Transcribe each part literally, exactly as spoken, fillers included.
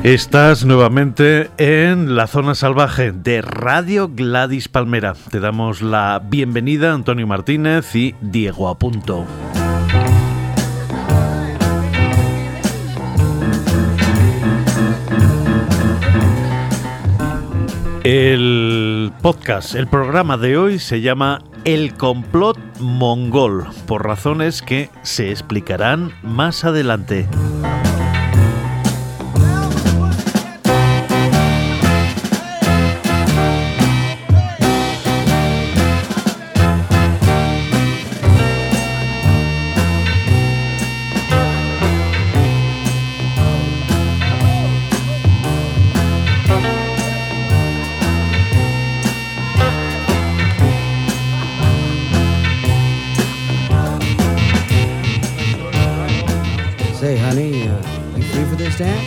Estás nuevamente en La Zona Salvaje de Radio Gladys Palmera. Te damos la bienvenida Antonio Martínez y Diego Apunto. El podcast, el programa de hoy se llama El Complot Mongol, por razones que se explicarán más adelante. Say, honey, uh, you free for this dance?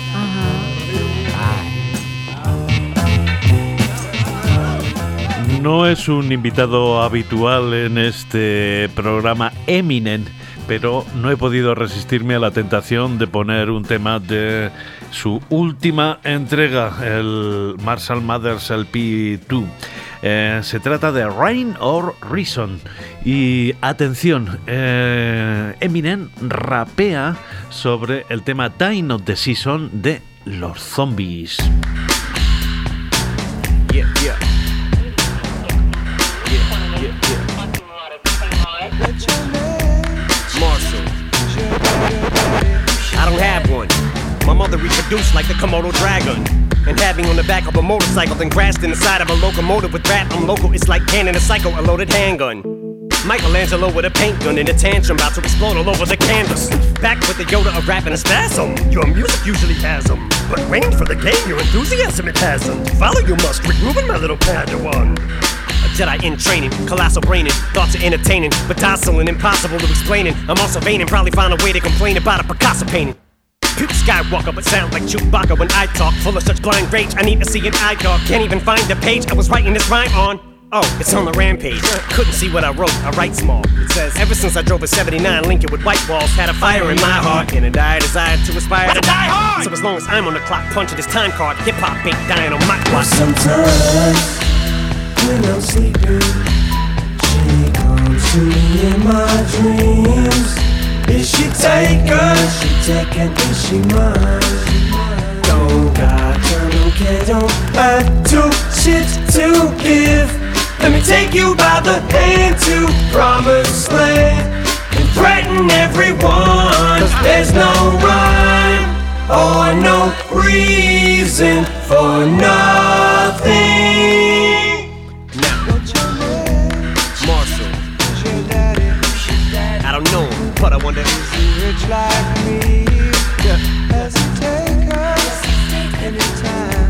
No es un invitado habitual en este programa Eminem, pero no he podido resistirme a la tentación de poner un tema de su última entrega, el Marshall Mathers L P dos. Eh, se trata de Rain or Reason. Y atención, eh, Eminem rapea sobre el tema Time of the Season de los zombies. Yeah, yeah. Yeah, yeah, yeah. Marshall. I don't have one. My mother reproduced like the Komodo dragon, and had me on the back of a motorcycle, then crashed in the side of a locomotive with rap. I'm local, it's like cannon a psycho, a loaded handgun. Michelangelo with a paint gun in a tantrum, about to explode all over the canvas. Back with the Yoda of rap and a spasm. Your music usually has them, but waiting for the game, your enthusiasm it hasn't. Follow you must, Rick Rubin, my little Padawan. A Jedi in training, colossal braining, thoughts are entertaining, but docile and impossible to explaining. I'm also vain and probably find a way to complain about a Picasso painting. Puke Skywalker, but sound like Chewbacca when I talk. Full of such blind rage, I need to see an eye dog. Can't even find the page I was writing this rhyme on. Oh, it's on the rampage. Couldn't see what I wrote, I write small. It says, ever since I drove a seventy-nine Lincoln with white walls, had a fire in my heart, and a dire desire to aspire to die hard. So as long as I'm on the clock, punching this time card, hip-hop ain't dying on my watch. Sometimes, when I'm sleeping, she comes to me in my dreams. Is she taken? She taken, is she mine? Don't got time, don't care, don't have to shit to give. Let me take you by the hand to promised land and threaten everyone, cause there's no rhyme or no reason for nothing. Now, Marshall, I don't know him, but I wonder, Is he rich like me? yeah. Does he take us anytime?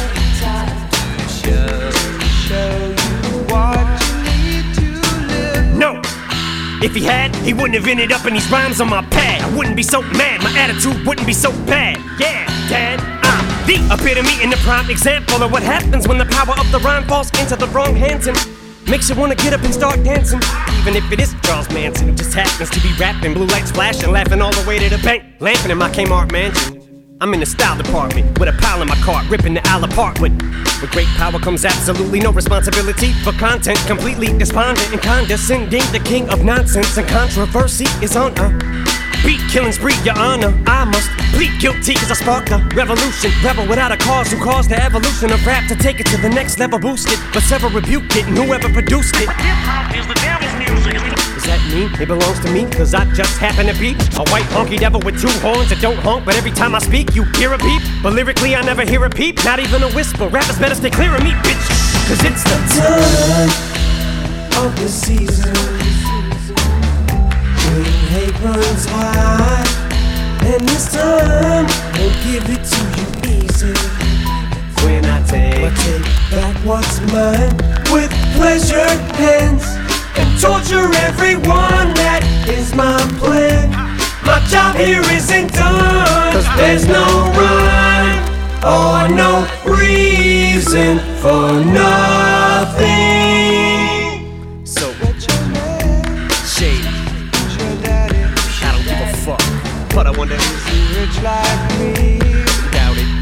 Show you what you need to live. No! If he had, he wouldn't have ended up in these rhymes on my pad. I wouldn't be so mad, my attitude wouldn't be so bad. Yeah, Dad, I'm the epitome and the prime example of what happens when the power of the rhyme falls into the wrong hands and makes you wanna get up and start dancing. Even if it is Charles Manson who just happens to be rapping, blue lights flashing, laughing all the way to the bank, laughing in my Kmart mansion. I'm in the style department with a pile in my cart, ripping the aisle apart with With great power comes absolutely no responsibility for content, completely despondent and condescending. The king of nonsense and controversy is on a beat killing spree, your honor. I must plead guilty cause I sparked a revolution. Rebel without a cause who caused the evolution of rap to take it to the next level, boosted, but several rebuked it and whoever produced it. Hip-hop is the devil's music. Does that mean it belongs to me? Cause I just happen to be a white honky devil with two horns that don't honk, but every time I speak you hear a beep. But lyrically I never hear a peep, not even a whisper. Rappers better stay clear of me, bitch, cause it's the Time of the season when hate runs high, and this time I'll give it to you easy. when I take, I take back what's mine with pleasured hands and torture everyone. That is my plan. My job here isn't done, cause there's no rhyme or no reason for nothing. so shady. I don't give a fuck, but I wonder Is he rich like me? doubt it.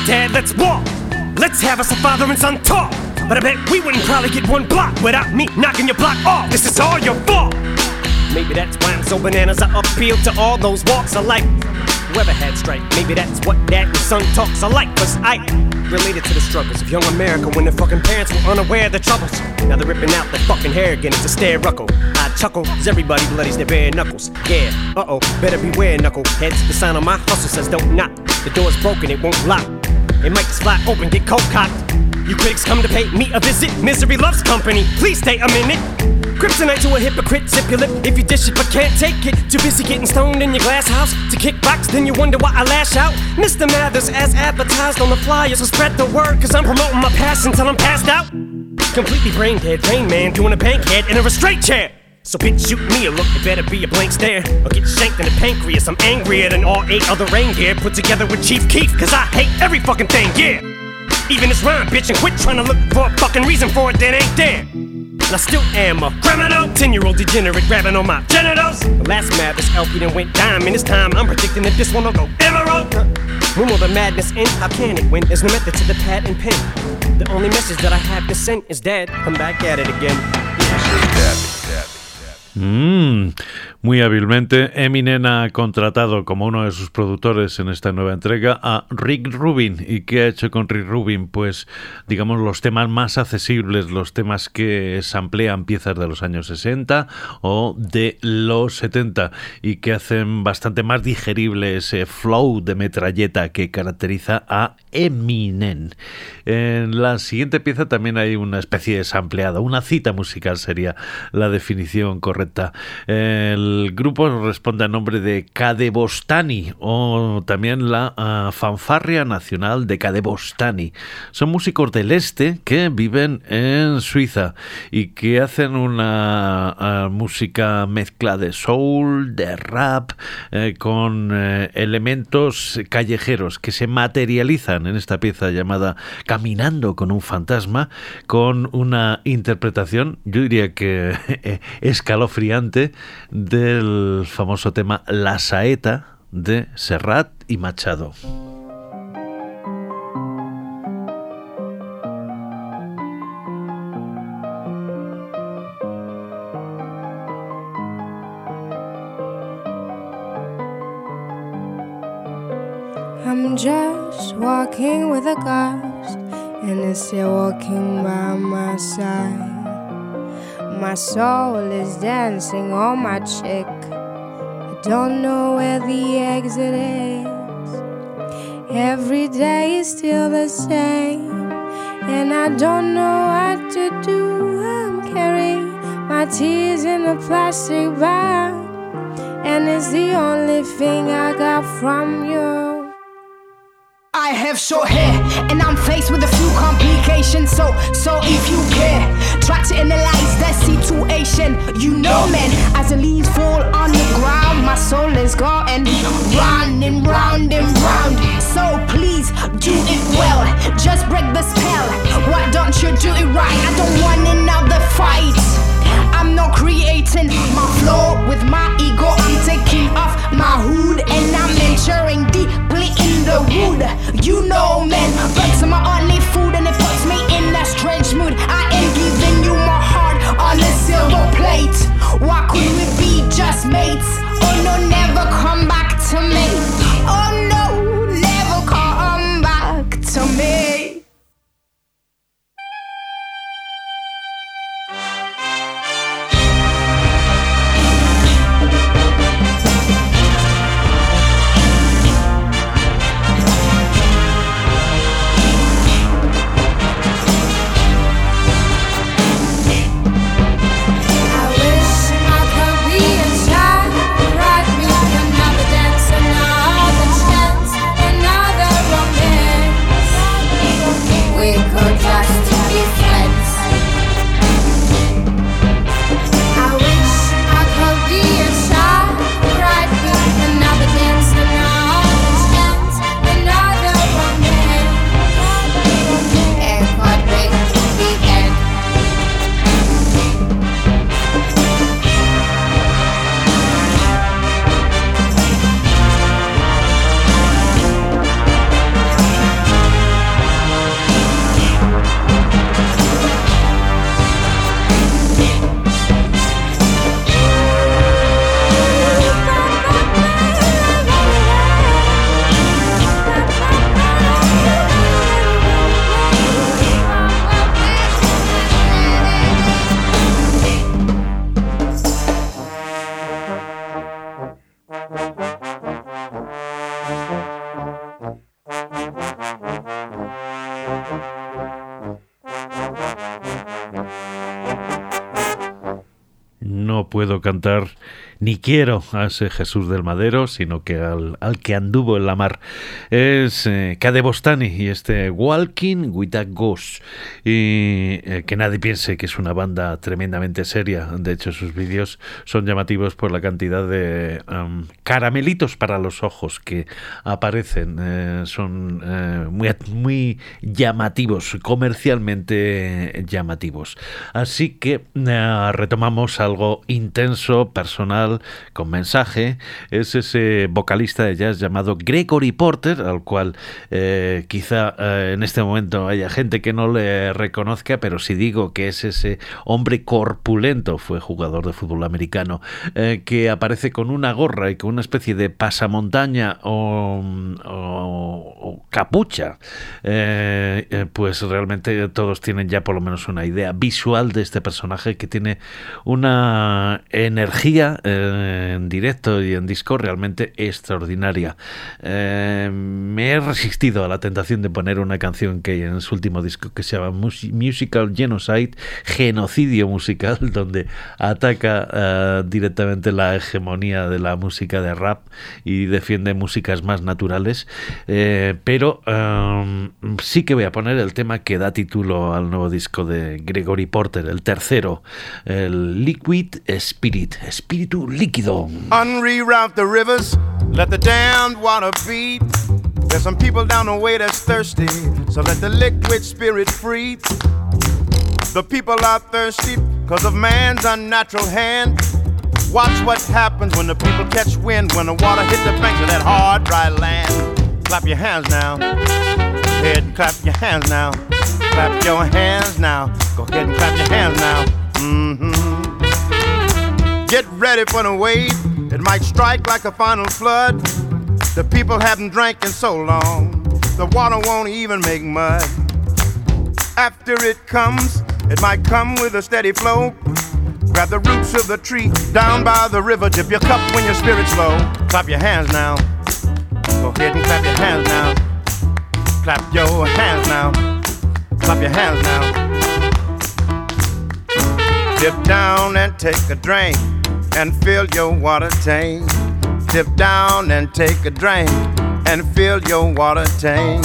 Dad, let's walk. Let's have us a father and son talk. But I bet we wouldn't probably get one block without me knocking your block off. This is all your fault. Maybe that's why I'm so bananas. I appeal to all those walks of life. Whoever had strike, maybe that's what dad and son talks are like. Cause I related to the struggles of young America when their fucking parents were unaware of the troubles. Now they're ripping out their fucking hair again, it's a stare ruckle. I chuckle, cause everybody bloodies their bare knuckles. Yeah, uh-oh, better beware knuckleheads. The sign on my hustle says don't knock. The door's broken, it won't lock. It might just fly open, get cold cocked. You critics come to pay me a visit. Misery loves company, please stay a minute. Kryptonite to a hypocrite, zip your lip if you dish it but can't take it. Too busy getting stoned in your glass house to kickbox, then you wonder why I lash out. Mister Mathers as advertised on the flyers, so spread the word cause I'm promoting my passion till I'm passed out. Completely brain dead, Rain Man doing a bankhead in a restraint chair. So bitch shoot me a look, it better be a blank stare or get shanked in the pancreas. I'm angrier than all eight other reindeer put together with Chief Keef, cause I hate every fucking thing, yeah. Even this rhyme, bitch, and quit trying to look for a fucking reason for it that ain't there. And I still am a criminal, ten-year-old degenerate grabbing on my genitals. The last Mathers L P done went diamond. This time I'm predicting that this one will go emerald. When will the madness end? How can it when there's no method to the pad and pen? The only message that I have to send is Dad, come back at it again. Mm, muy hábilmente, Eminem ha contratado como uno de sus productores en esta nueva entrega a Rick Rubin. ¿Y qué ha hecho con Rick Rubin? Pues, digamos, los temas más accesibles, los temas que samplean piezas de los años sesenta o de los setenta y que hacen bastante más digerible ese flow de metralleta que caracteriza a Eminem. En la siguiente pieza también hay una especie de sampleado, una cita musical sería la definición correcta. El grupo responde a nombre de Kadebostani o también la uh, Fanfarria Nacional de Kadebostani. Son músicos del este que viven en Suiza y que hacen una uh, música mezcla de soul, de rap, eh, con eh, elementos callejeros que se materializan en esta pieza llamada Caminando con un fantasma, con una interpretación, yo diría que eh, escalofriante, del famoso tema La Saeta de Serrat y Machado. I'm just walking with a ghost, and it's still walking by my side. My soul is dancing on my cheek. I don't know where the exit is. Every day is still the same, and I don't know what to do. I'm carrying my tears in a plastic bag, and it's the only thing I got from you. I have short hair, and I'm faced with a few complications. So, so if you care, try to analyze that situation. You know, man, as the leaves fall on the ground, my soul is going round and round and round. So please do it well, just break the spell. Why don't you do it right? I don't want another fight. I'm not creating my flow with my ego. I'm taking off my hood and I'm entering deeply in the wood. You know, man, birds are my only food and it puts me in a strange mood. I am giving you my heart on a silver plate. Why could we be just mates? Oh no, never come back to me. Oh no, never come back to me. No puedo cantar ni quiero a ese Jesús del Madero, sino que al, al que anduvo en la mar. Es eh, Cade Bostani y este Walking with a Ghost. Y eh, que nadie piense que es una banda tremendamente seria. De hecho, sus vídeos son llamativos por la cantidad de um, caramelitos para los ojos que aparecen. Eh, son eh, muy, muy llamativos, comercialmente llamativos. Así que eh, retomamos algo intenso, personal, con mensaje. Es ese vocalista de jazz llamado Gregory Porter, al cual eh, quizá eh, en este momento haya gente que no le reconozca, pero si digo que es ese hombre corpulento, fue jugador de fútbol americano, eh, que aparece con una gorra y con una especie de pasamontaña o, o, o capucha, eh, eh, pues realmente todos tienen ya por lo menos una idea visual de este personaje, que tiene una energía eh, en directo y en disco realmente extraordinaria. Eh, me he resistido a la tentación de poner una canción que hay en su último disco que se llama Musical Genocide, genocidio musical, donde ataca uh, directamente la hegemonía de la música de rap y defiende músicas más naturales, eh, pero um, sí que voy a poner el tema que da título al nuevo disco de Gregory Porter, el tercero, el Liquid Spirit, espíritu líquido. Unreroute the rivers, let the damned water beat. There's some people down the way that's thirsty, so let the liquid spirit free. The people are thirsty because of man's unnatural hand. Watch what happens when the people catch wind, when the water hit the banks of that hard, dry land. Clap your hands now. Go ahead and clap your hands now. Clap your hands now. Go ahead and clap your hands now. Mm-hmm. Get ready for the wave. It might strike like a final flood. The people haven't drank in so long, the water won't even make mud. After it comes, it might come with a steady flow. Grab the roots of the tree down by the river. Dip your cup when your spirit's low. Clap your hands now. Go ahead and clap your hands now. Clap your hands now. Clap your hands now. Dip down and take a drink and fill your water tank. Dip down and take a drink and fill your water tank.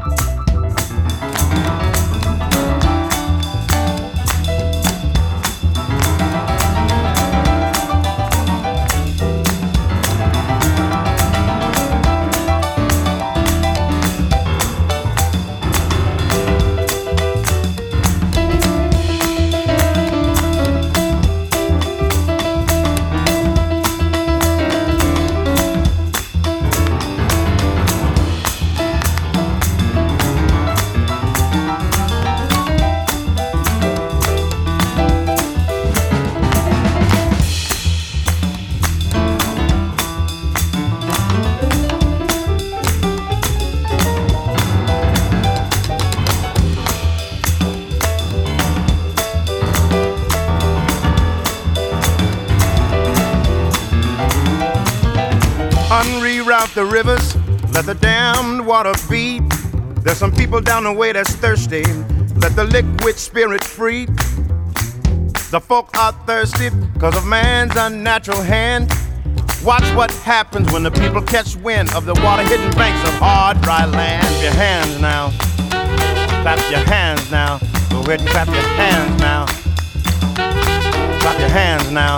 The rivers, let the damned water beat. There's some people down the way that's thirsty. Let the liquid spirit free. The folk are thirsty because of man's unnatural hand. Watch what happens when the people catch wind of the water-hidden banks of hard, dry land. Clap your hands now. Clap your hands now. Go ahead and clap your hands now. Clap your hands now.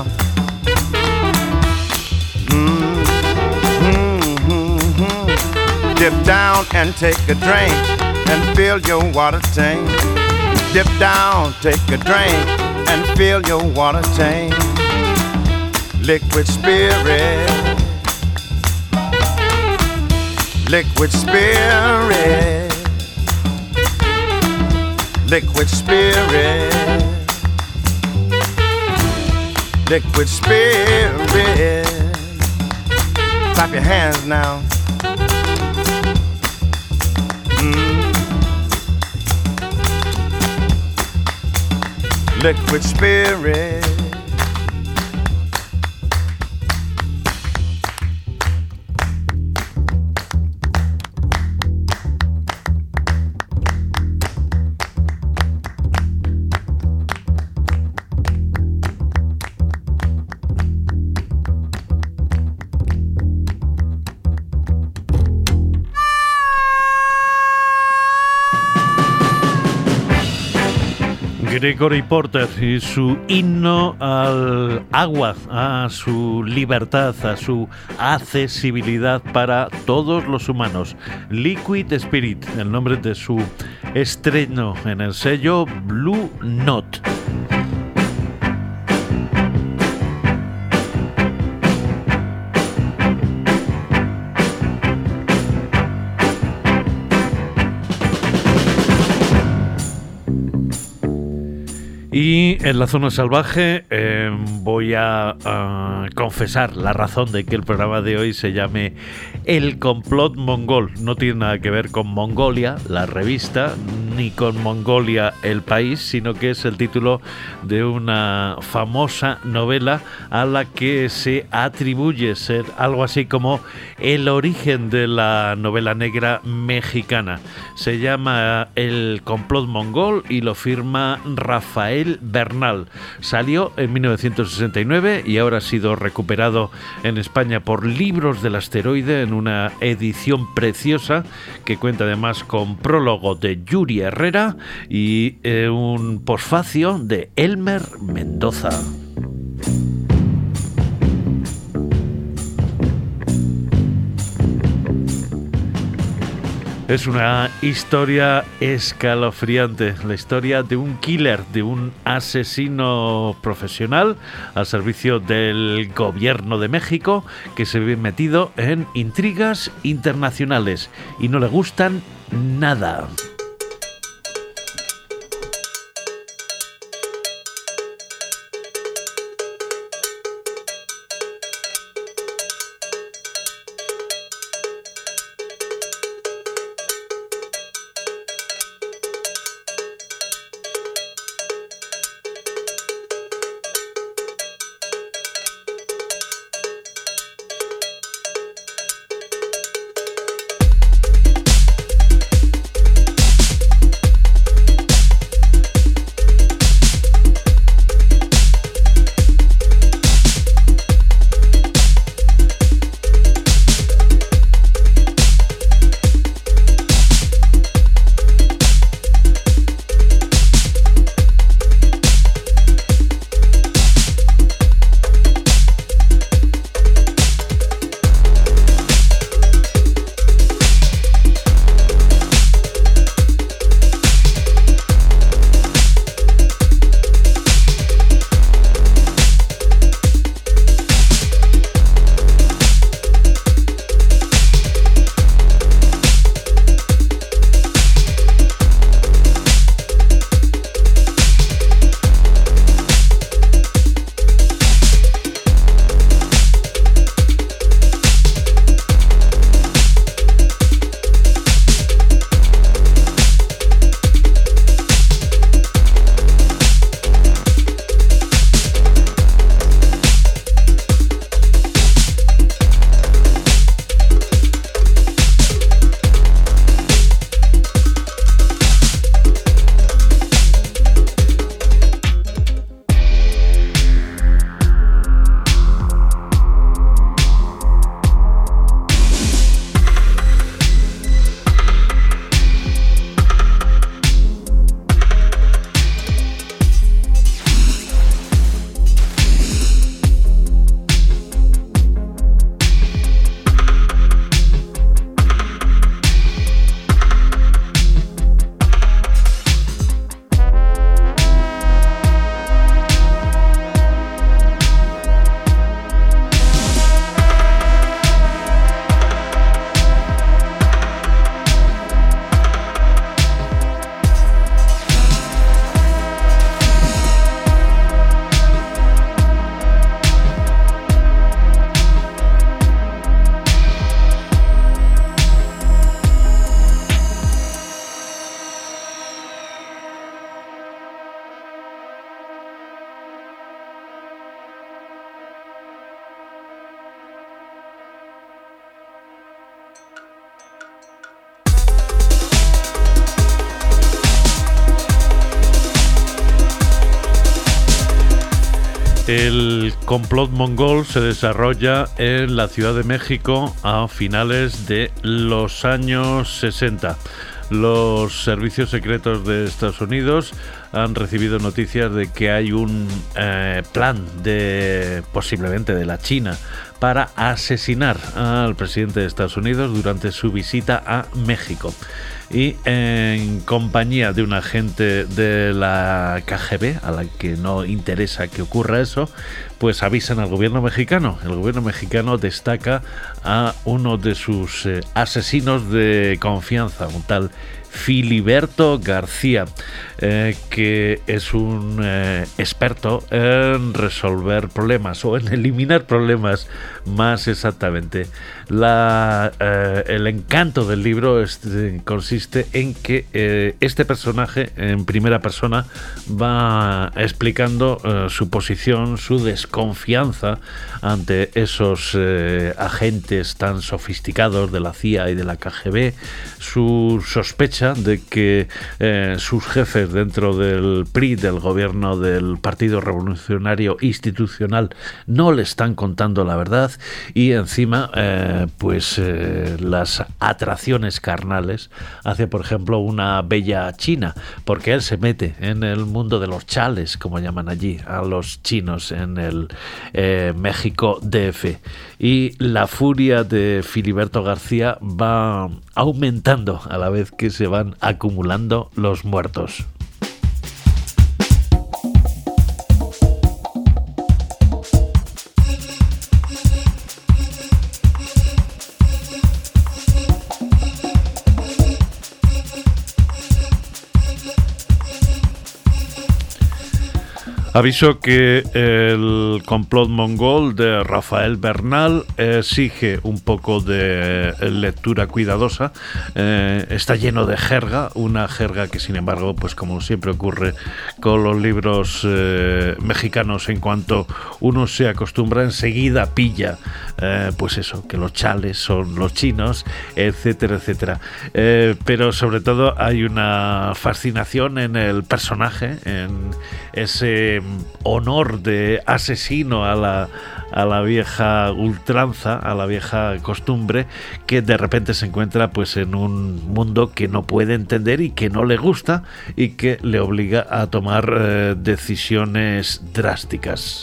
Mm. Dip down and take a drink and fill your water tank. Dip down, take a drink and fill your water tank. Liquid spirit. Liquid spirit. Liquid spirit. Liquid spirit. Clap your hands now. Liquid spirit. Gregory Porter y su himno al agua, a su libertad, a su accesibilidad para todos los humanos. Liquid Spirit, el nombre de su estreno en el sello Blue Note. Y en la zona salvaje eh, voy a uh, confesar la razón de que el programa de hoy se llame El Complot Mongol. No tiene nada que ver con Mongolia, la revista, ni con Mongolia, el país, sino que es el título de una famosa novela a la que se atribuye ser algo así como el origen de la novela negra mexicana. Se llama El Complot Mongol y lo firma Rafael Bernal. Salió en mil novecientos sesenta y nueve y ahora ha sido recuperado en España por Libros del Asteroide en una edición preciosa que cuenta además con prólogo de Yuri Herrera y eh, un posfacio de Elmer Mendoza. Es una historia escalofriante, la historia de un killer, de un asesino profesional al servicio del gobierno de México que se ve metido en intrigas internacionales y no le gustan nada. El complot mongol se desarrolla en la Ciudad de México a finales de los años sesenta. Los servicios secretos de Estados Unidos han recibido noticias de que hay un eh, plan de posiblemente de la China para asesinar al presidente de Estados Unidos durante su visita a México. Y en compañía de un agente de la K G B, a la que no interesa que ocurra eso, pues avisan al gobierno mexicano. El gobierno mexicano destaca a uno de sus eh, asesinos de confianza, un tal Filiberto García, eh, que es un eh, experto en resolver problemas o en eliminar problemas, más exactamente. La, eh, el encanto del libro este, consiste en que eh, este personaje en primera persona va explicando eh, su posición, su desconfianza ante esos eh, agentes tan sofisticados de la C I A y de la K G B, su sospecha de que eh, sus jefes dentro del P R I, del gobierno del Partido Revolucionario Institucional, no le están contando la verdad, y encima eh, pues eh, las atracciones carnales hacia, por ejemplo, una bella china, porque él se mete en el mundo de los chales, como llaman allí a los chinos en el eh, México D F, y la furia de Filiberto García va aumentando a la vez que se van acumulando los muertos. Aviso que el complot mongol de Rafael Bernal exige un poco de lectura cuidadosa. Eh, está lleno de jerga, una jerga que, sin embargo, pues como siempre ocurre con los libros eh, mexicanos, en cuanto uno se acostumbra, enseguida pilla, eh, pues eso, que los chales son los chinos, etcétera, etcétera. Eh, pero sobre todo hay una fascinación en el personaje, en ese honor de asesino a la, a la vieja ultranza, a la vieja costumbre, que de repente se encuentra pues en un mundo que no puede entender y que no le gusta y que le obliga a tomar eh, decisiones drásticas.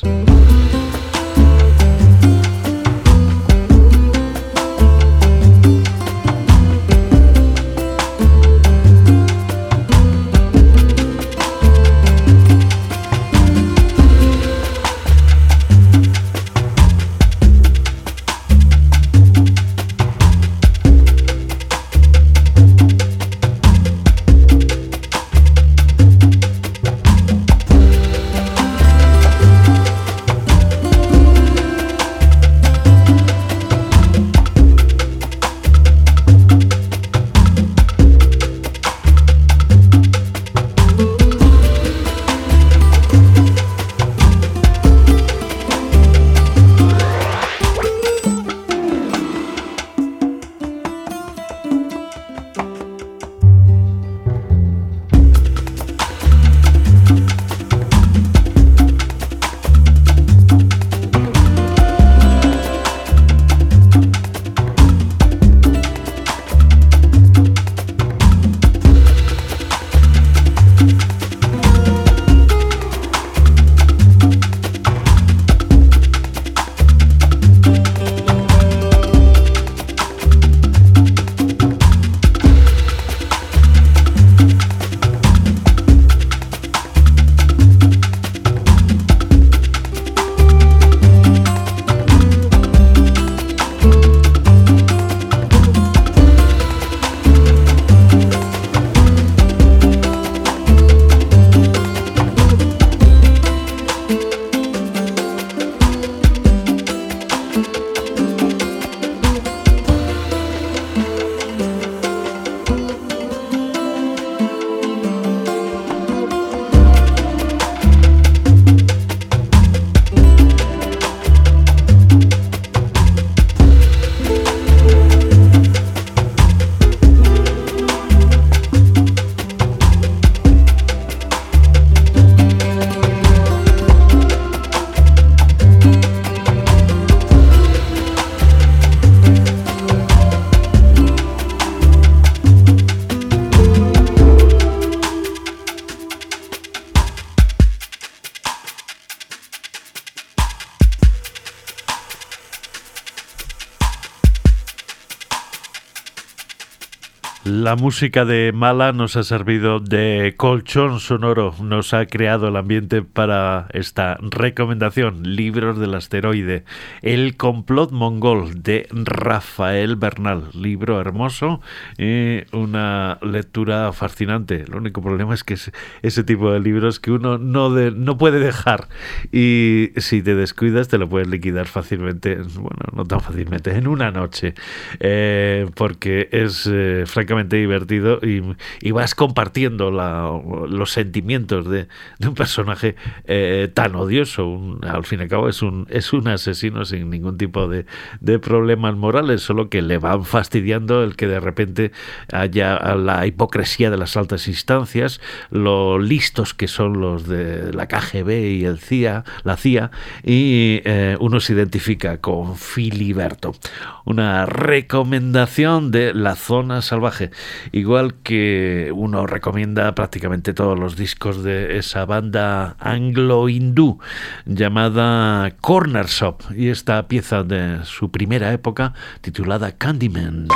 La música de Mala nos ha servido de colchón sonoro, nos ha creado el ambiente para esta recomendación, Libros del Asteroide, El complot mongol de Rafael Bernal, libro hermoso y una lectura fascinante. El único problema es que es ese tipo de libros que uno no, de, no puede dejar y si te descuidas te lo puedes liquidar fácilmente, bueno, no tan fácilmente, en una noche, eh, porque es eh, francamente divertido y, y vas compartiendo la, los sentimientos de, de un personaje eh, tan odioso. Un, al fin y al cabo es un, es un asesino sin ningún tipo de, de problemas morales, solo que le van fastidiando el que de repente haya la hipocresía de las altas instancias, lo listos que son los de la K G B y el C I A, la C I A, y eh, uno se identifica con Filiberto. Una recomendación de La Zona Salvaje. Igual que uno recomienda prácticamente todos los discos de esa banda anglo-hindú llamada Corner Shop y esta pieza de su primera época titulada Candyman.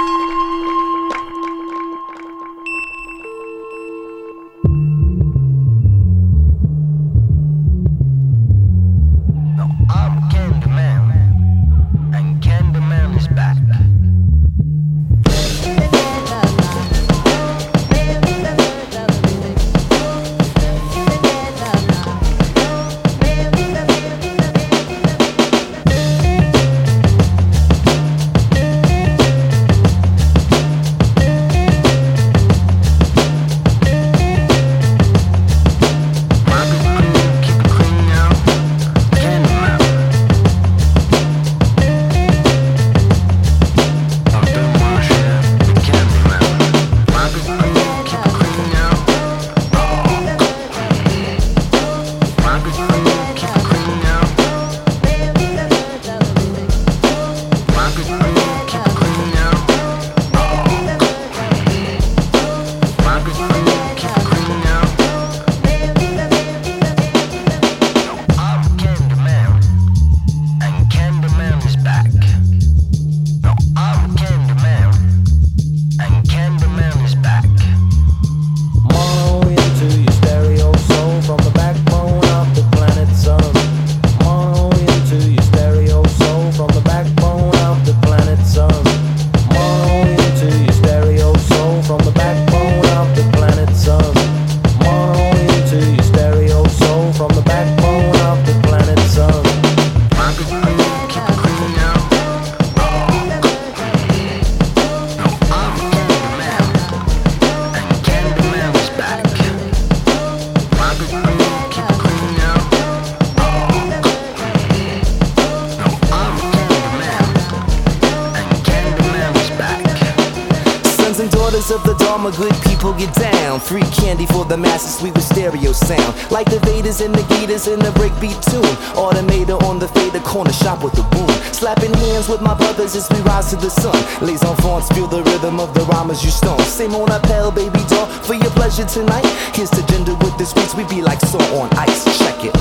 Of the Dharma, good people get down. Free candy for the masses, sweet with stereo sound. Like the Vedas and the Gitas in the breakbeat tune. Automator on the fader, corner shop with the boom. Slapping hands with my brothers as we rise to the sun. Les enfants feel the rhythm of the rhymes you stone. Same on appel, baby doll, for your pleasure tonight. Here's to gender with the sweets, we be like salt on ice. Check it.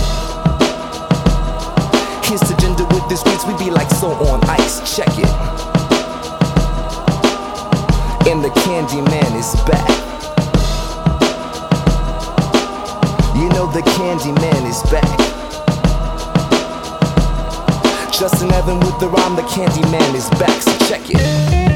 Here's to gender with the sweets, we be like salt on ice. Check it. And the Candyman is back. You know the Candyman is back. Justin Evan with the rhyme, the Candyman is back, so check it.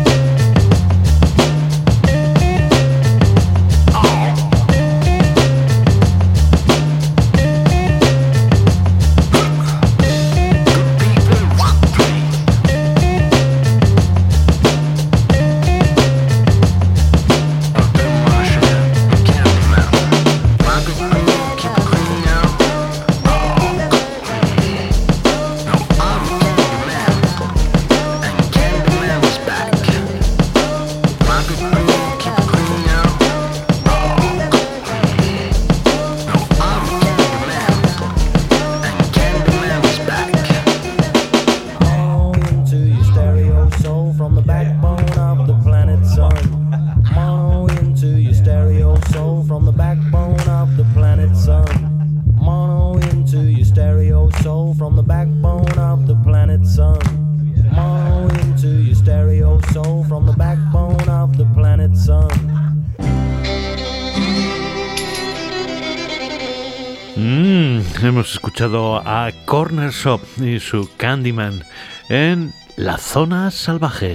soul from the backbone of the planet Sun. Mono into your stereo soul from the backbone of the planet hemos escuchado a Corner Shop y su Candyman en La Zona Salvaje.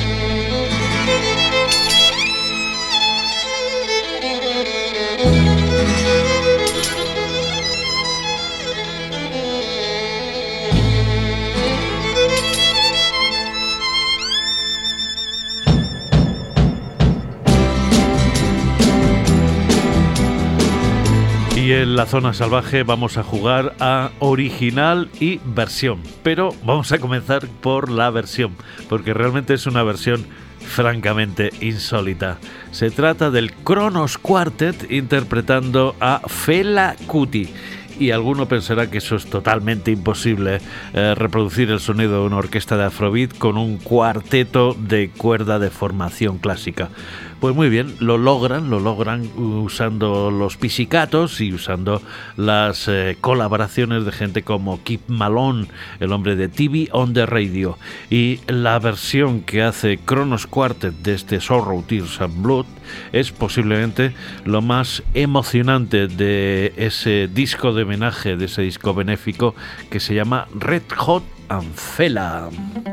Y en La Zona Salvaje vamos a jugar a original y versión, pero vamos a comenzar por la versión, porque realmente es una versión francamente insólita. Se trata del Kronos Quartet interpretando a Fela Kuti. Y alguno pensará que eso es totalmente imposible, eh, reproducir el sonido de una orquesta de Afrobeat con un cuarteto de cuerda de formación clásica. Pues muy bien, lo logran, lo logran usando los pizzicatos y usando las eh, colaboraciones de gente como Keith Malone, el hombre de T V on the Radio. Y la versión que hace Kronos Quartet de este Sorrow, Tears and Blood es posiblemente lo más emocionante de ese disco de homenaje, de ese disco benéfico que se llama Red Hot and Fela.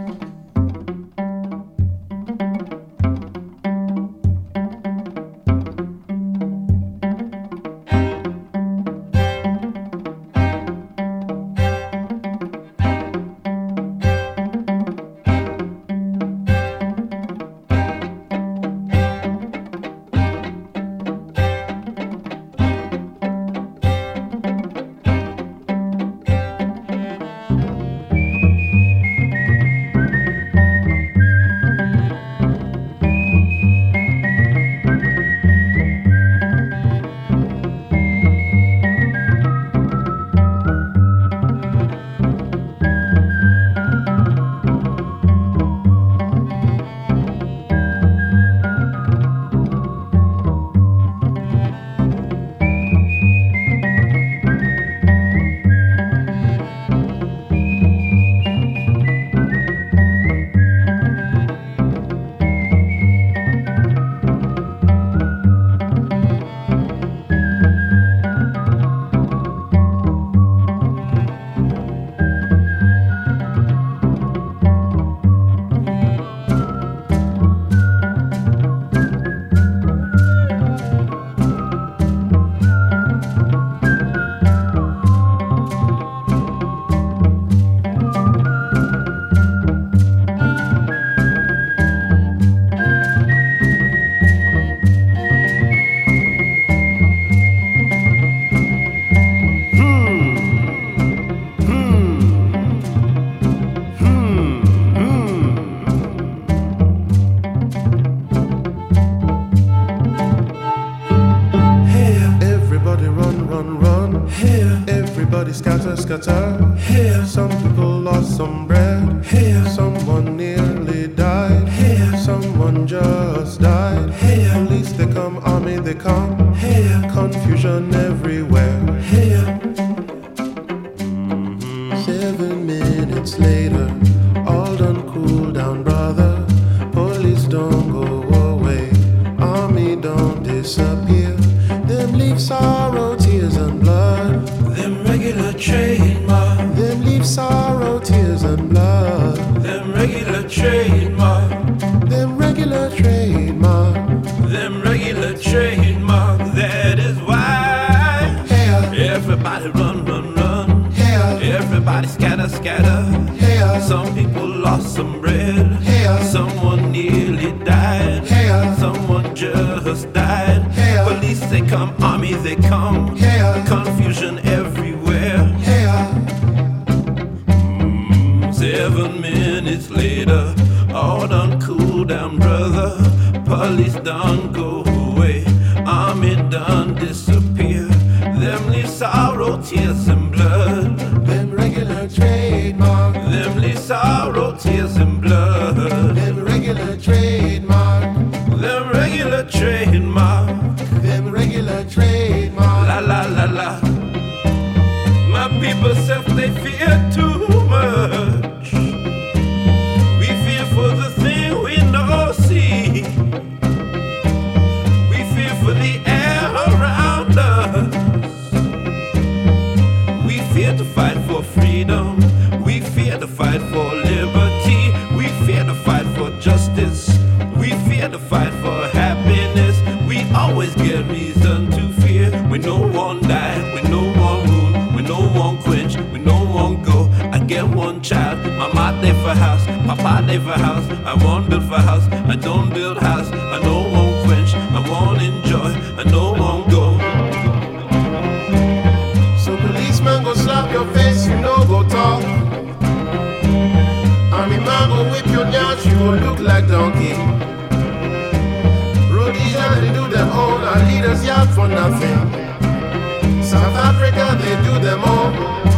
Scatter, scatter. Here, some people lost some bread. Here, someone nearly died. Here, someone just died. Here, police they come, army they come. Here, confusion everywhere. Here, mm-hmm. Seven minutes later, all done cool down, brother. Police don't go away, army don't disappear. Them leave sorrow, tears and blood. Them regular trademark. Them leave sorrow, tears and blood. Them regular trademark. Them regular trademark. Them regular trademark. That is why yeah. Everybody run, run, run. Yeah. Everybody scatter, scatter. Yeah. Some people lost some bread. Yeah. Someone nearly died. Yeah. Someone just died. Yeah. Police they come, army they come. Yeah. Confusion everywhere. Yeah. Mm, seven minutes later, all done cool down, brother. Police done go away, army done disappear. Them leave sorrow, tears and blood. Them regular trademark. Them leave sorrow, tears and blood. Them regular trademark. Them regular trademark. Them regular trademark. La la la la. My people self they fear too much. We fear for the thing we no see. We fear for the air around us. scared to fight for happiness. We always get reason to fear. We no one die, we no one rule, we no one quench, we no one go. I get one child, mama dey for house, papa dey for house. I want build for house, I don't build house. I no one quench, I want enjoy, I no one go. So policeman go slap your face, you no go talk. Army man go whip your nyash, you go look like donkey. Rhodesia they do them all, our leaders yap for nothing. South Africa they do them all.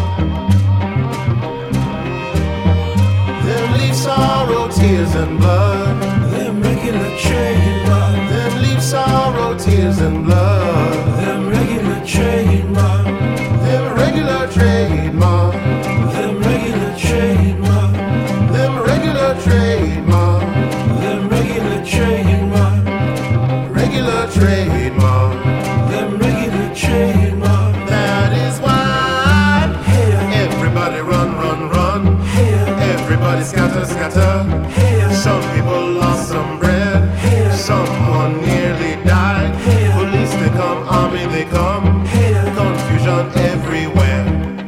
Them leave sorrow, tears and blood. Them regular trademark. Them leave sorrow, tears and blood. Them regular trademark. Them regular trademark. Them regular trademark. Them regular trademark. Them regular trademark. Regular trademark. Them regular trademark. That is why Hey, everybody run, run, run. hey, Everybody scatter, scatter. hey, Some people lost some bread. hey, Someone nearly died. Police they come, army they come. hey. Confusion everywhere.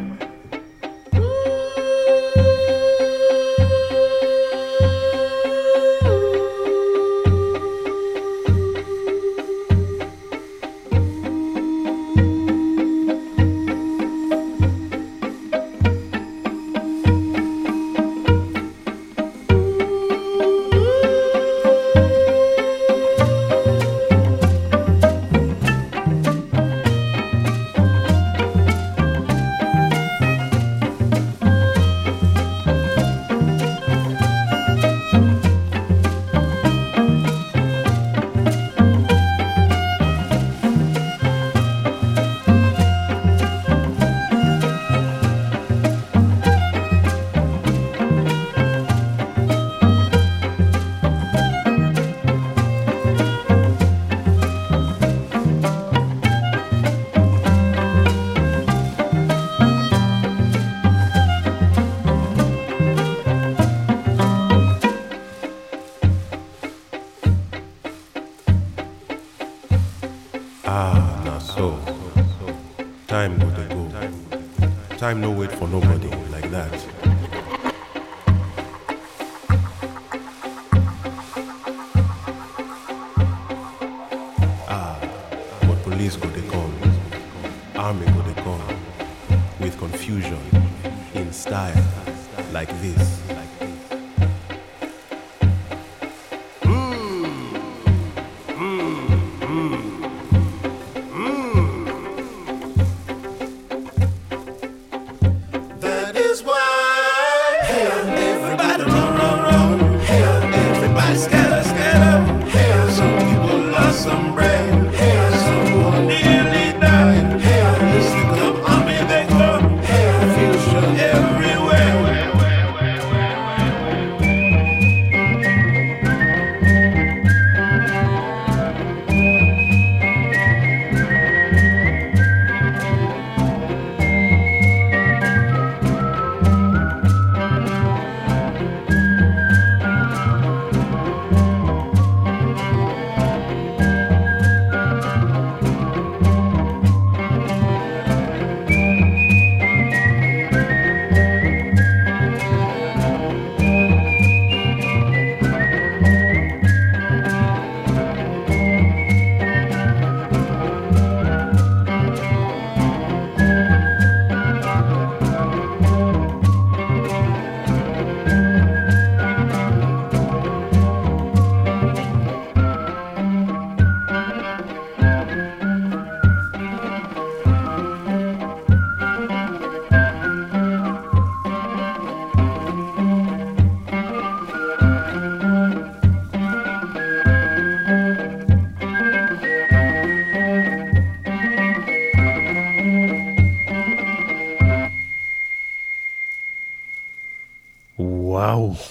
Ah, now so. Time go dey go. Time no wait for nobody like that. Ah, but police go dey come. Army go dey come. With confusion, in style, like this. That is why everybody run, run, run. Everybody scatter, scatter. Some people lost some bread. Someone nearly died. Police they come, army they come. Confusion everywhere.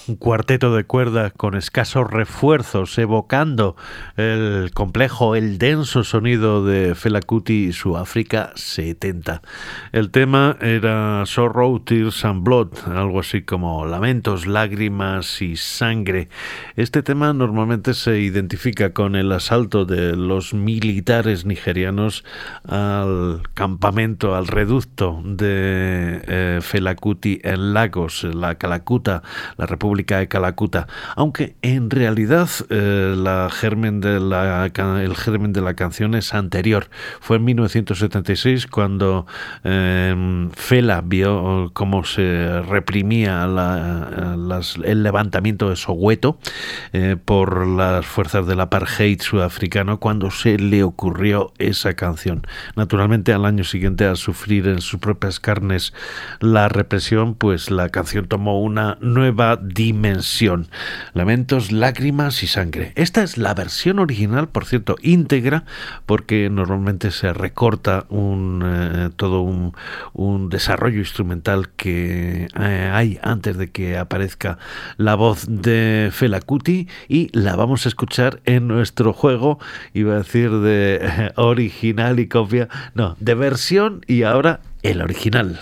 un cuarteto de cuerda con escasos refuerzos, evocando el complejo, el denso sonido de Fela Kuti y su África setenta. El tema era Sorrow, Tears and Blood, algo así como lamentos, lágrimas y sangre. Este tema normalmente se identifica con el asalto de los militares nigerianos al campamento, al reducto de eh, Fela Kuti en Lagos, la Calacuta, la República de Calacuta, aunque en realidad eh, la germen de la, el germen de la canción es anterior. Fue en mil novecientos setenta y seis cuando eh, Fela vio cómo se reprimía la, las, el levantamiento de Soweto eh, por las fuerzas del apartheid sudafricano, cuando se le ocurrió esa canción. Naturalmente, al año siguiente, al sufrir en sus propias carnes la represión, pues la canción tomó una nueva dimensión. Lamentos, lágrimas y sangre. Esta es la versión original, por cierto, íntegra, porque normalmente se recorta un, eh, todo un, un desarrollo instrumental que eh, hay antes de que aparezca la voz de Fela Kuti, y la vamos a escuchar en nuestro juego, iba a decir de eh, original y copia, no, de versión, y ahora el original.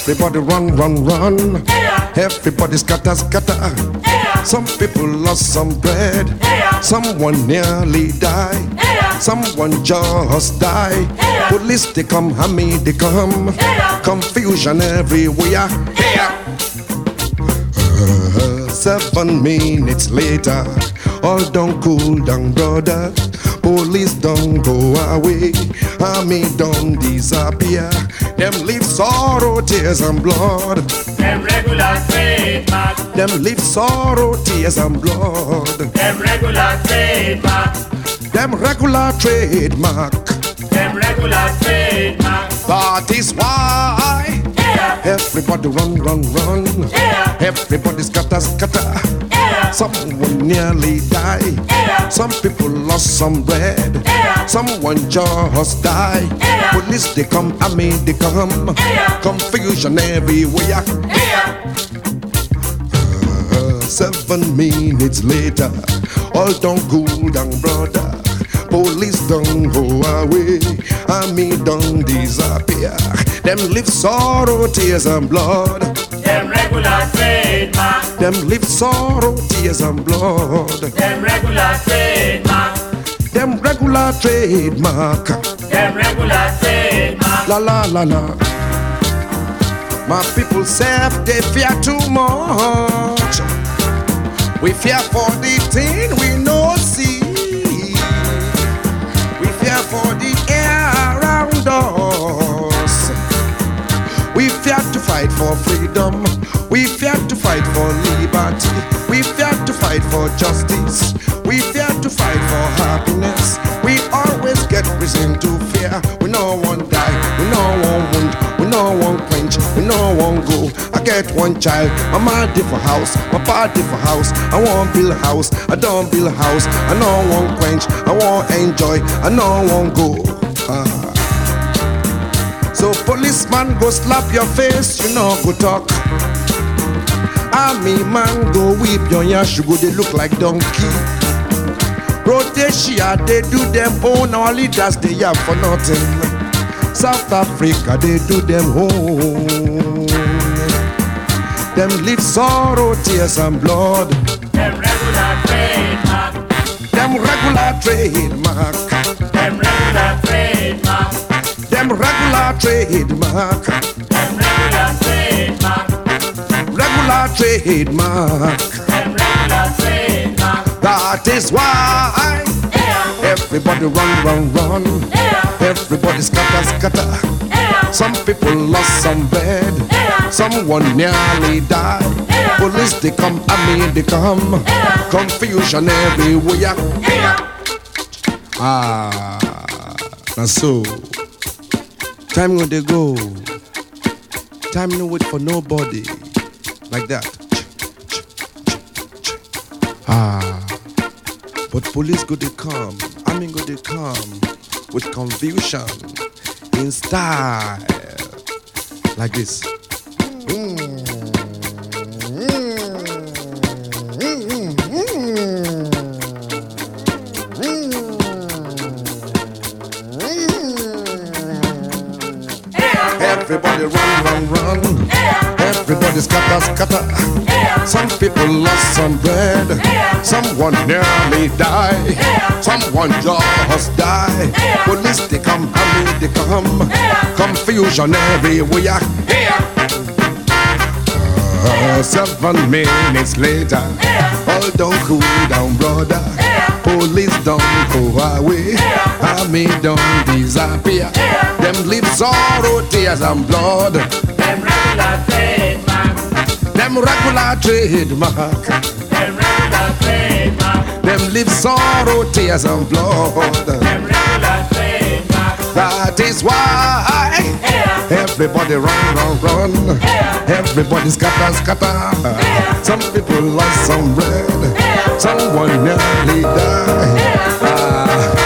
Everybody run, run, run. Everybody scatter, scatter. Some people lost some bread. Someone nearly died. Someone just died. Police they come, Hammy they come. Confusion everywhere. Uh, seven minutes later, all done cool down, brother. Police don't go away. Army don't disappear. Them leave sorrow, tears and blood. Them regular trademark. Them leave sorrow, tears and blood. Them regular trademark. Them regular trademark. Them regular trademark. That is why yeah. Everybody run, run, run. Yeah. Everybody scatter, scatter. Yeah. Someone nearly died. Yeah. Some people lost some bread. Yeah. Someone just died. Yeah. Police they come, army they come. Yeah. Confusion everywhere. Yeah. Uh, seven minutes later, all done cool down, brother. Police don't go away, army don't disappear. Them live sorrow, tears and blood. Them regular trademark. Them live sorrow, tears and blood. Them regular trademark. Them regular trademark. Them regular trademark. La la la la. My people say they fear too much. We fear for the thing we no see. We fear for the air around us. We fear to fight for freedom. We fear to fight for liberty. We fear to fight for justice. We fear to fight for happiness. We always get reason to fear. We no one die. We no one wound. We no one quench. We no one go. I get one child. My mama for house. My party for house. I want build a house. I don't build a house. I no one quench. I want enjoy. I no one go. Ah. So policeman go slap your face. You know go talk. Army man go whip your yash. You go they look like donkey. Rhodesia, they do them own. Our leaders, they have for nothing. South Africa, they do them own. Them live sorrow, tears and blood. Them regular trademark. Them regular trademark. Them regular trademark. Them regular trademark. Them regular trademark. Regular trademark. Them regular trademark. That is why yeah. Everybody run, run, run. Yeah. Everybody scatter, scatter. Yeah. Some people lost some bread. Yeah. Someone nearly died. Yeah. Police they come, army they come. Yeah. Confusion everywhere. Yeah. Ah, now so time when they go. Time no wait for nobody. Like that. Ah, but police go they come, army go they come with confusion in style like this. Mm. Everybody run, run, run. Everybody scatter, scatter. Some people lost some bread. Someone nearly died. Someone just died. Police they come, army they come. Confusion everywhere. Uh, seven minutes later, all don't cool down, brother. Police don't go away. Army don't disappear. Them leave sorrow, tears and blood. Them regular trademark. Them regular trademark. Them regular trademark. Them leave sorrow, tears and blood. Them regular trademark. That is why yeah. Everybody run, run, run. Yeah. Everybody scatter, scatter. Yeah. Some people lost some bread. Yeah. Someone nearly died. Yeah. Ah.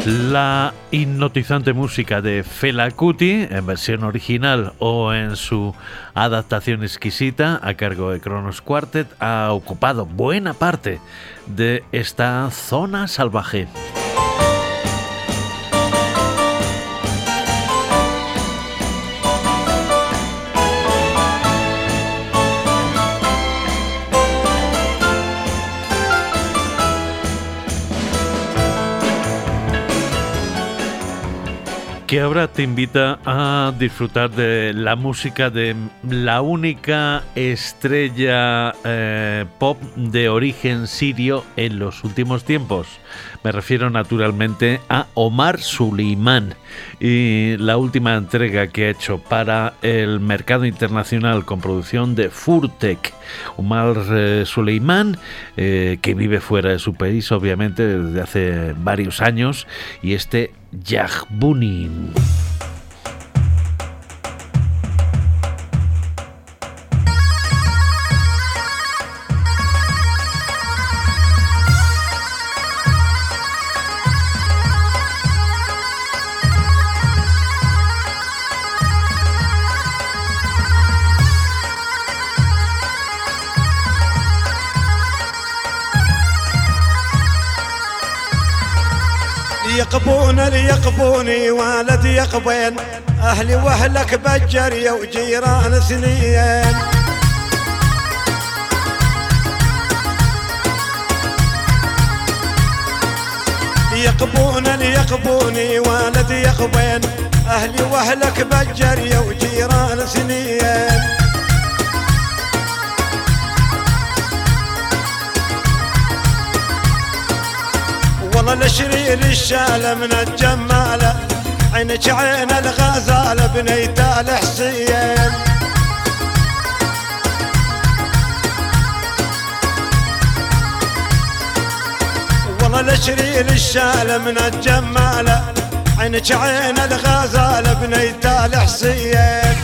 La hipnotizante música de Fela Kuti, en versión original o en su adaptación exquisita a cargo de Kronos Quartet, ha ocupado buena parte de esta zona salvaje. Que ahora te invita a disfrutar de la música de la única estrella eh, pop de origen sirio en los últimos tiempos. Me refiero naturalmente a Omar Suleiman y la última entrega que ha hecho para el mercado internacional con producción de Furtek. Omar eh, Suleiman, eh, que vive fuera de su país obviamente desde hace varios años, y este Yahbuni. يقبون ليقبوني والدي يقبين أهلي وأهلك بجرية وجيران سنين يقبون ليقبوني والدي يقبين أهلي وأهلك بجرية وجيران سنين والله الشرير الشالة من الجمالة عينك عين الغزالة بنيت الحسين والله الشرير الشالة من الجمالة عينك عين الغزالة بنيت الحسين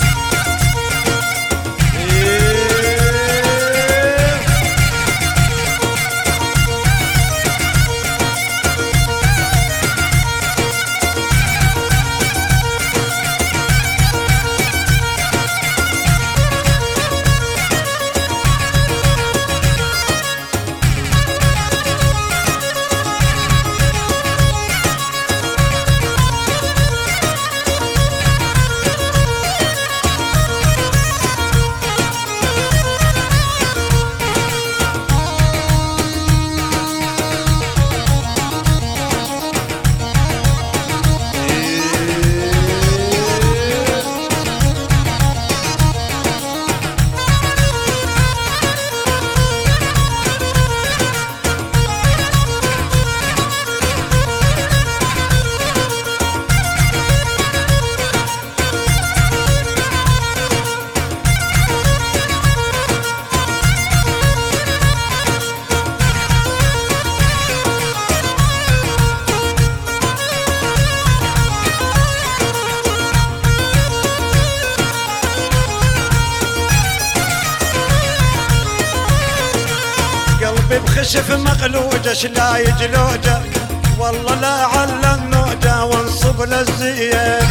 بخشف مقلوجة شلا يجلوجة والله لا على النوجة وانصب للزين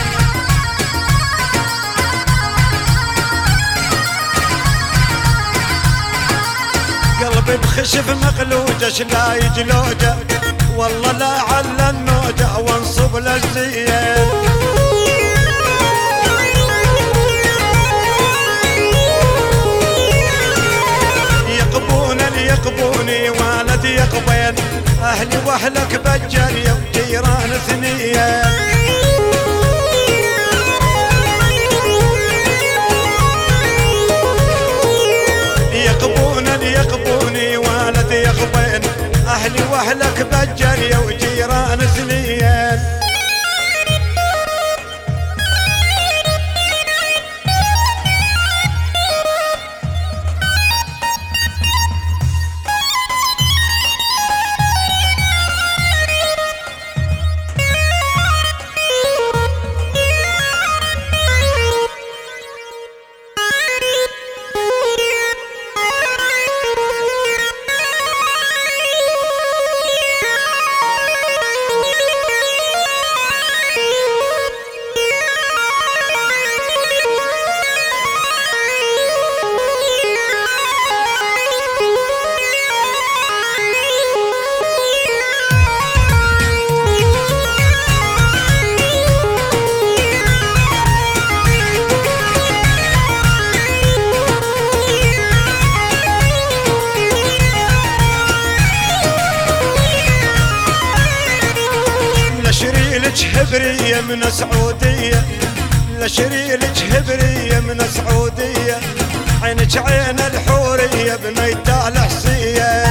قلبي بخشف مقلوجة شلا يجلوجة والله لا على النوجة وانصب للزين يقبوني والدي يقبين أهلي وأهلك بجرية وجيران ثنية يقبوني يقبوني والدي يقبين أهلي وأهلك بجرية وجيران ثنية شريلك هبرية من سعودية لشريلك هبرية من سعودية عينك عين الحورية بنيت الحسية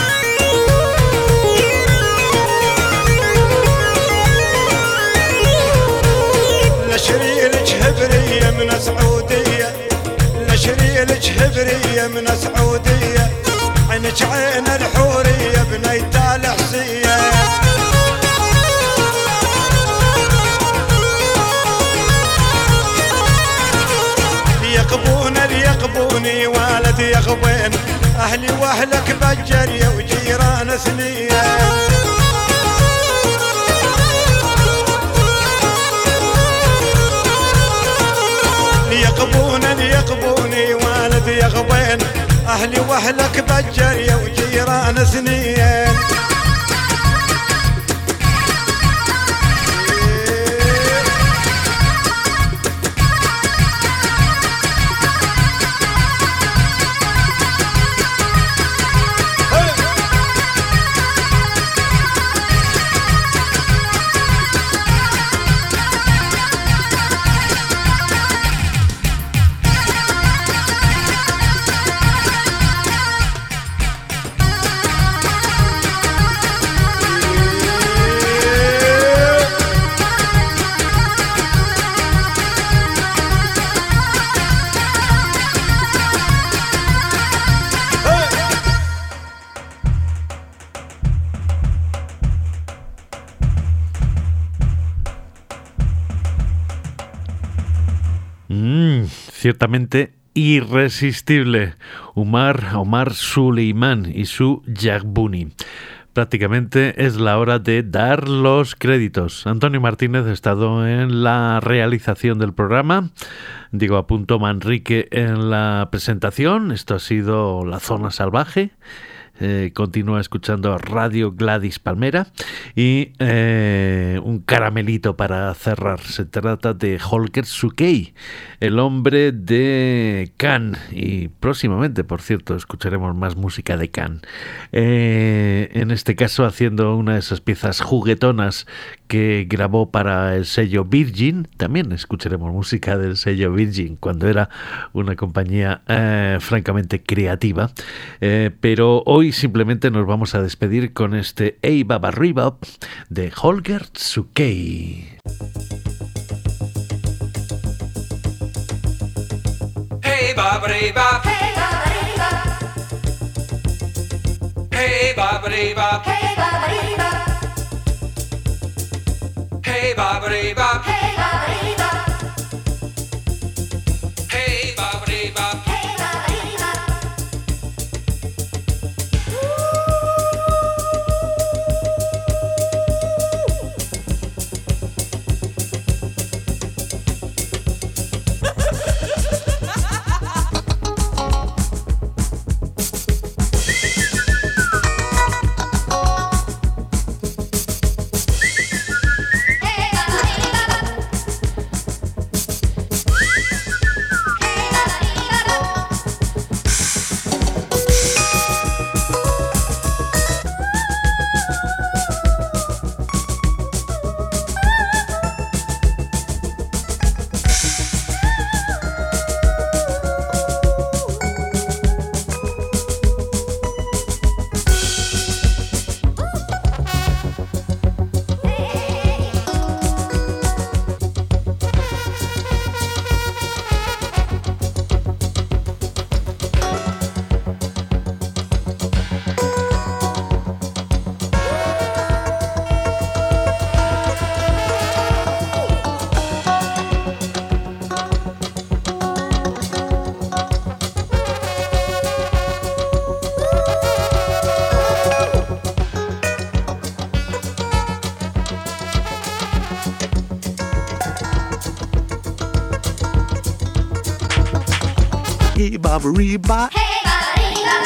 لشريلك هبرية من سعودية لشريلك هبرية من سعودية عينك عين الحورية بنيت الحسية يقبون يقبوني والد يغبين أهلي وأهلك بجرية وجيران ثنية يقبون يقبوني والد يغبين أهلي وأهلك بجرية وجيران ثنية Ciertamente irresistible, Umar Omar Suleiman y su Yagbuni. Prácticamente es la hora de dar los créditos. Antonio Martínez ha estado en la realización del programa, Diego Apunto Manrique en la presentación. Esto ha sido La Zona Salvaje. Eh, continúa escuchando Radio Gladys Palmera y eh, un caramelito para cerrar. Se trata de Holger Sukei, el hombre de Can, y próximamente, por cierto, escucharemos más música de Can, eh, en este caso haciendo una de esas piezas juguetonas que grabó para el sello Virgin. También escucharemos música del sello Virgin cuando era una compañía eh, francamente creativa, eh, pero hoy simplemente nos vamos a despedir con este Hey Baba Rebop de Holger Sukei. Hey Baba Rebop, hey Baba Rebop, hey Baba Rebop, hey Baba Rebop, hey Baba Rebop, hey Baba Rebop, hey Baba Rebop. Hey Baba Reba. Hey Baba Reba.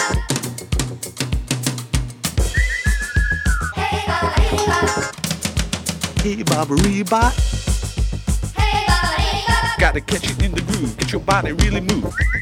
Hey Baba Reba. Hey Baba Reba. Hey Baba Reba. Gotta catch it in the groove, get your body really move.